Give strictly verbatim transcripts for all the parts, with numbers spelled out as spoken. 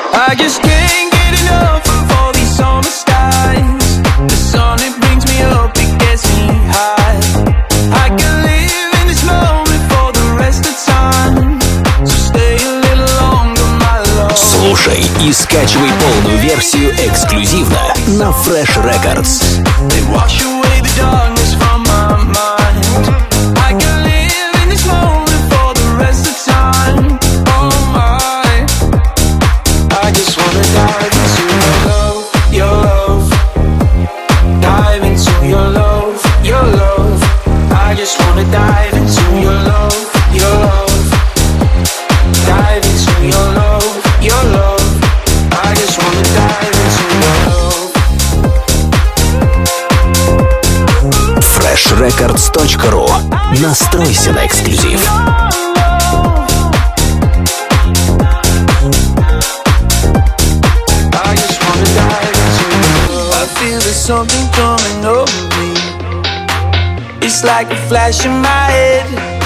I just can't get enough of all these summer skies. The sun, it brings me up, it gets me high. I can live in this moment for the rest of time. So stay a little longer, my love. Слушай и скачивай полную версию эксклюзивно на Fresh Records. They wash away the darkness from my mind. I can live in this moment for the rest of time. Oh my, I just wanna dive into your love, your love. Dive into your love, your love. I just wanna dive into your love, your love. Dive into your love, your love. I just wanna dive into your love. фреш рекордс точка ру. Настройся на эксклюзив. There's something coming over me. It's like a flash in my head.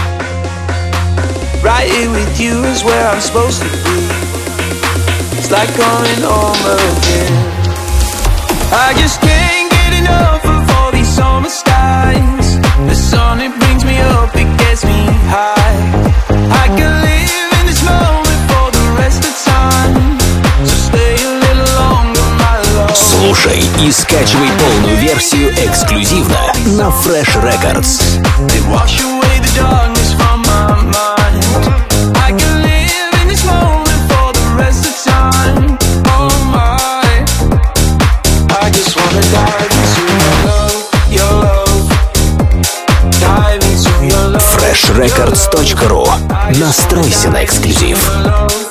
Right here with you is where I'm supposed to be. It's like coming home again. I just can't get enough of all these summer skies. The sun, it brings me up, it gets me high. I can live in this moment for the rest of time. So stay a little longer, my love. Слушай и скачивай полную версию эксклюзивно на Fresh Records. They wash away the darkness from my mind. I can live in this moment for the rest of time. Oh my, I just wanna dive into your love, your love. Dive into your love. фреш рекордс точка ру. Настройся на эксклюзив.